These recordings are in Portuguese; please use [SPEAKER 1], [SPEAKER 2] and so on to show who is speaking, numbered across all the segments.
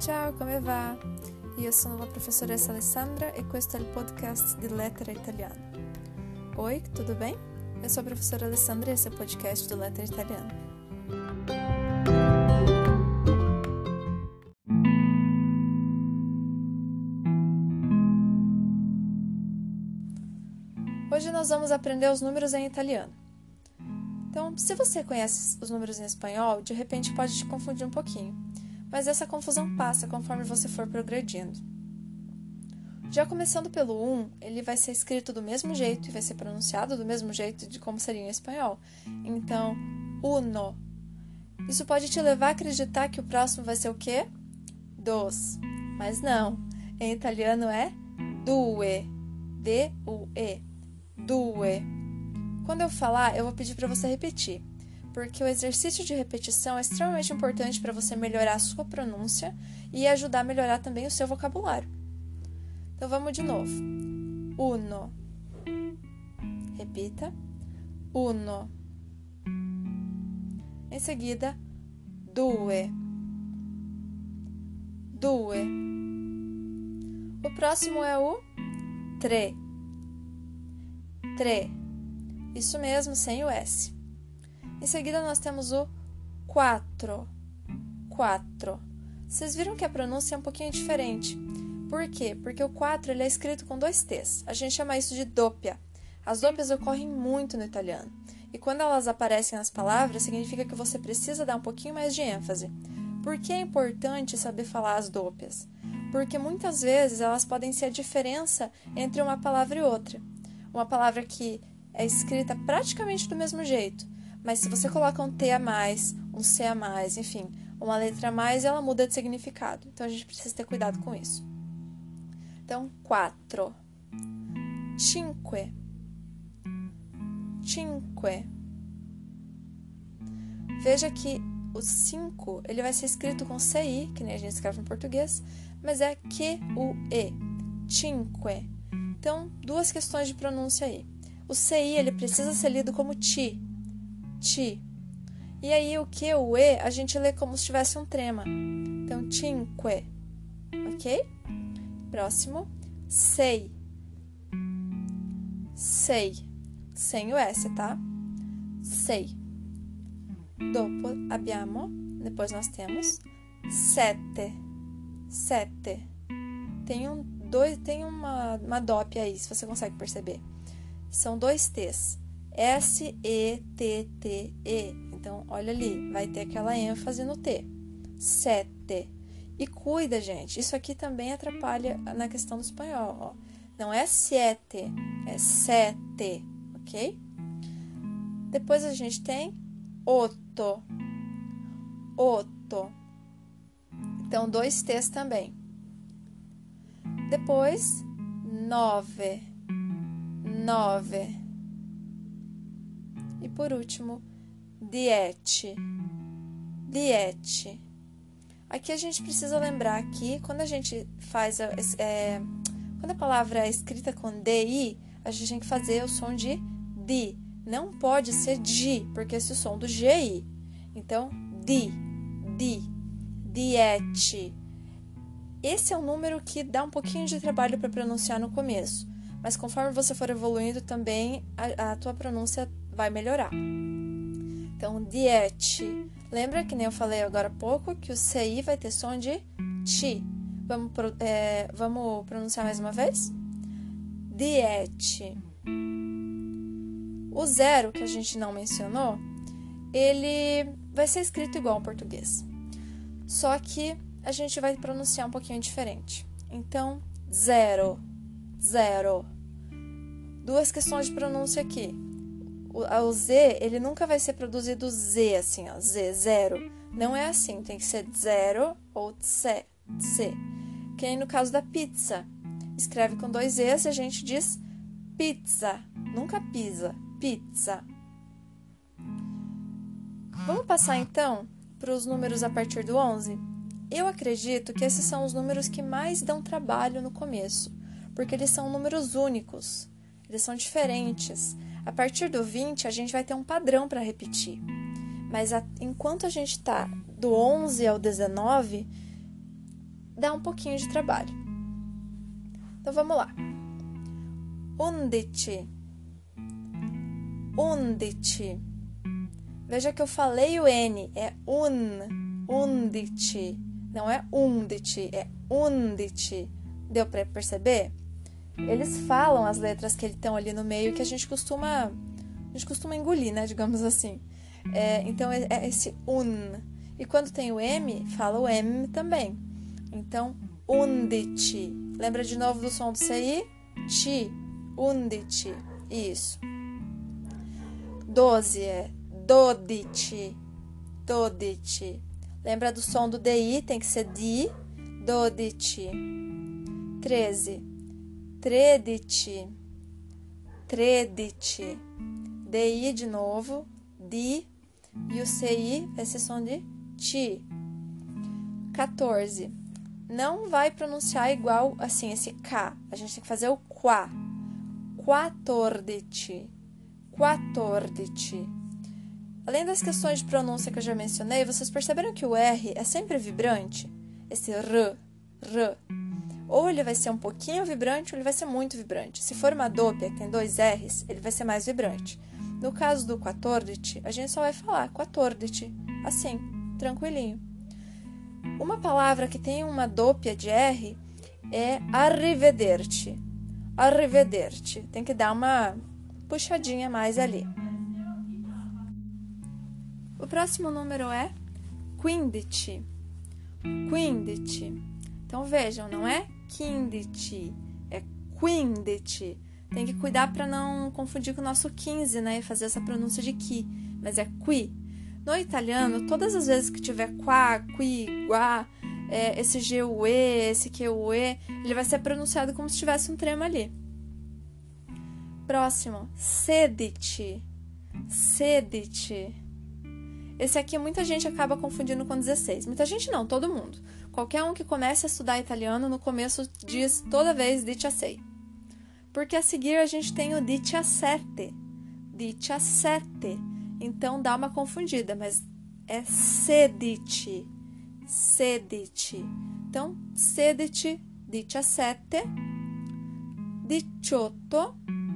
[SPEAKER 1] Ciao, come va? Io sono la professoressa Alessandra e questo è il podcast di Lettera Italiana. Oi, tudo bem? Eu sou a professora Alessandra e esse é o podcast do Lettera Italiana. Hoje nós vamos aprender os números em italiano. Então, se você conhece os números em espanhol, de repente pode te confundir um pouquinho. Mas essa confusão passa conforme você for progredindo. Já começando pelo 1, ele vai ser escrito do mesmo jeito e vai ser pronunciado do mesmo jeito de como seria em espanhol. Então, uno. Isso pode te levar a acreditar que o próximo vai ser o quê? Dos. Mas não. Em italiano é due. D-U-E. Due. Quando eu falar, eu vou pedir para você repetir. Porque o exercício de repetição é extremamente importante para você melhorar a sua pronúncia e ajudar a melhorar também o seu vocabulário. Então, vamos de novo. Uno. Repita. Uno. Em seguida, due. Due. O próximo é o tre. Tre. Isso mesmo, sem o S. Em seguida, nós temos o quattro. Quattro. Vocês viram que a pronúncia é um pouquinho diferente. Por quê? Porque o 4 ele é escrito com 2 T's. A gente chama isso de doppia. As doppias ocorrem muito no italiano. E quando elas aparecem nas palavras, significa que você precisa dar um pouquinho mais de ênfase. Por que é importante saber falar as doppias? Porque muitas vezes elas podem ser a diferença entre uma palavra e outra. Uma palavra que é escrita praticamente do mesmo jeito, mas se você coloca um T a mais, um C a mais, enfim, uma letra a mais, ela muda de significado. Então, a gente precisa ter cuidado com isso. Então, quattro. Cinque. Cinque. Veja que o 5, ele vai ser escrito com CI, que nem a gente escreve em português, mas é Q-U-E. Cinque. Então, duas questões de pronúncia aí. O CI, ele precisa ser lido como ti. Ti. E aí, o Q, o E, a gente lê como se tivesse um trema. Então, cinque. Ok? Próximo. Sei. Sei. Sem o S, tá? Sei. Dopo abbiamo, depois nós temos sette. Sette. Tem uma doppia aí, se você consegue perceber. São 2 T's. S-E-T-T-E. Então, olha ali, vai ter aquela ênfase no T. Sete. E cuida, gente, isso aqui também atrapalha na questão do espanhol, ó. Não é siete, é sete, ok? Depois a gente tem otto. Otto. Então, 2 T's também. Depois, nove. Nove. E por último, dieci. Dieci. Aqui a gente precisa lembrar que quando a gente faz quando a palavra é escrita com DI, a gente tem que fazer o som de di. Não pode ser di, porque esse é o som do GI. Então, di, dieci. Esse é um número que dá um pouquinho de trabalho para pronunciar no começo. Mas conforme você for evoluindo também, a tua pronúncia vai melhorar. Então, dieci. Lembra que nem eu falei agora há pouco que o CI vai ter som de ti. Vamos pronunciar mais uma vez? Dieci. O 0, que a gente não mencionou, ele vai ser escrito igual ao português. Só que a gente vai pronunciar um pouquinho diferente. Então, zero. Zero. Duas questões de pronúncia aqui. O Z, ele nunca vai ser produzido Z, assim, ó. Z, zero. Não é assim. Tem que ser zero ou tse. Tse. Que aí no caso da pizza. Escreve com 2 Z's e a gente diz pizza. Nunca pisa. Pizza. Vamos passar, então, para os números a partir do 11? Eu acredito que esses são os números que mais dão trabalho no começo. Porque eles são números únicos, eles são diferentes. A partir do 20, a gente vai ter um padrão para repetir. Mas enquanto a gente está do 11 ao 19, dá um pouquinho de trabalho. Então, vamos lá. 11. 11. Veja que eu falei o N, é undite. Não é undite, é undite. Deu para perceber? Eles falam as letras que estão ali no meio que a gente costuma engolir, né? Digamos assim. Então, é esse un. E quando tem o M, fala o M também. Então, undite. Lembra de novo do som do CI? Ti. Undite. Isso. 12 é dodici. Dodici. Lembra do som do DI? Tem que ser di. Dodici. 13. Tredici. Tredici. DI de novo. Di. E o CI vai ser som de ti. 14. Não vai pronunciar igual assim, esse K. A gente tem que fazer o qua. 14. 14. Além das questões de pronúncia que eu já mencionei, vocês perceberam que o R é sempre vibrante? Esse R. Ou ele vai ser um pouquinho vibrante, ou ele vai ser muito vibrante. Se for uma dópia, que tem 2 R's, ele vai ser mais vibrante. No caso do 14, a gente só vai falar 14, assim, tranquilinho. Uma palavra que tem uma dópia de R é arrivederci. Arrivederci. Tem que dar uma puxadinha mais ali. O próximo número é 15. 15. Então, vejam, não é 15, é 15. Tem que cuidar para não confundir com o nosso 15, né? E fazer essa pronúncia de qui, mas é qui. No italiano, todas as vezes que tiver qua, qui, qua, esse GUE, esse QUE, ele vai ser pronunciado como se tivesse um trema ali. Próximo, sedici. Sedici. Esse aqui muita gente acaba confundindo com 16. Muita gente não, todo mundo. Qualquer um que comece a estudar italiano, no começo diz toda vez 17. Porque a seguir a gente tem o 17. 17. Então dá uma confundida, mas é sedici. Sedici. Então, sedici, 17, 18,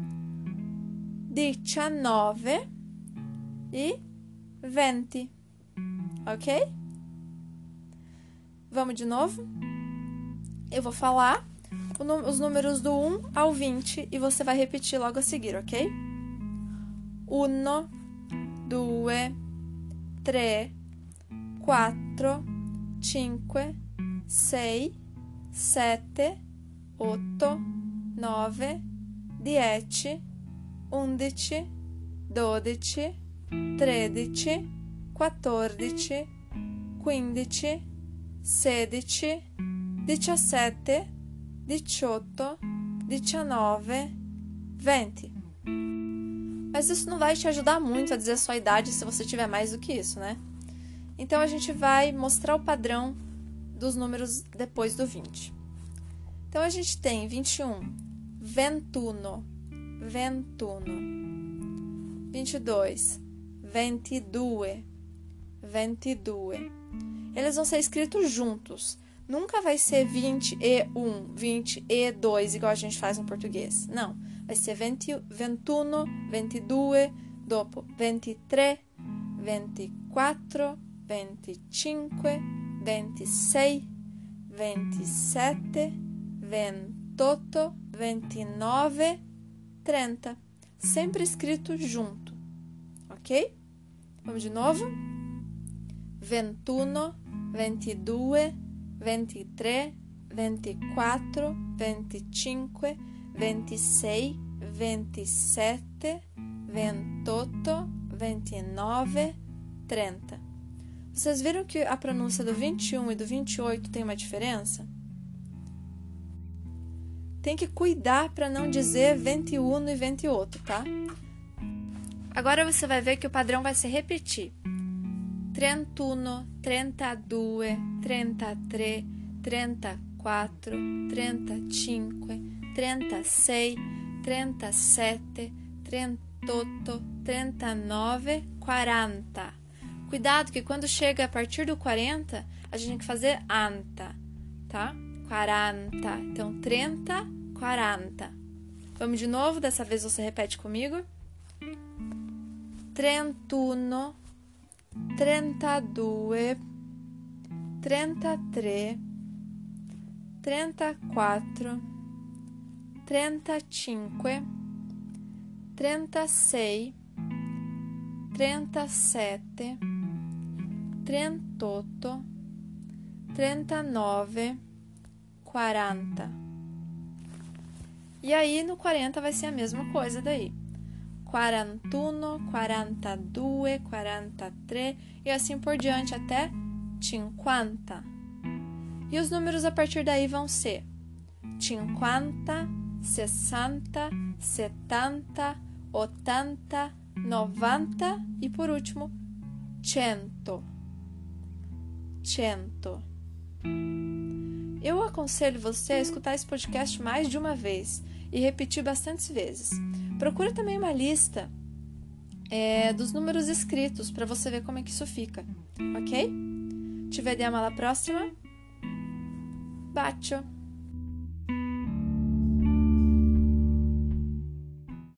[SPEAKER 1] 19 e 20. Ok? Vamos de novo? Eu vou falar os números do 1 ao 20 e você vai repetir logo a seguir, ok? 1, 2, 3, 4, 5, 6, 7, 8, 9, 10, 11, 12, 13, 14, 15, 16, 17, 18, 19, 20. Mas isso não vai te ajudar muito a dizer a sua idade se você tiver mais do que isso, né? Então, a gente vai mostrar o padrão dos números depois do 20. Então, a gente tem 21, 21, 21, 22, 22, 22. Eles vão ser escritos juntos. Nunca vai ser 20 e 1, 20 e 2, igual a gente faz no português. Não. Vai ser 20, 21, 22, dopo 23, 24, 25, 26, 27, 28, 29, 30. Sempre escrito junto. Ok? Vamos de novo? 21, 22, 23, 24, 25, 26, 27, 28, 29, 30. Vocês viram que a pronúncia do 21 e do 28 tem uma diferença? Tem que cuidar para não dizer 21 e 28, tá? Agora você vai ver que o padrão vai se repetir. 31, 32, 33, 34, 35, 36, 37, 38, 39, 40. Cuidado que quando chega a partir do 40, a gente tem que fazer anta. tá? 40. Então, 30, 40. Vamos de novo, dessa vez você repete comigo. 31, 32, 33, 34, 35, 36, 37, 38, 39, 40. E aí no 40 vai ser a mesma coisa daí. 41, 42, 43 e assim por diante até 50. E os números a partir daí vão ser 50, 60, 70, 80, 90 e por último 100. 100. Eu aconselho você a escutar esse podcast mais de uma vez e repetir bastantes vezes. Procura também uma lista dos números escritos para você ver como é que isso fica, ok? Ci vediamo alla prossima. Bacio!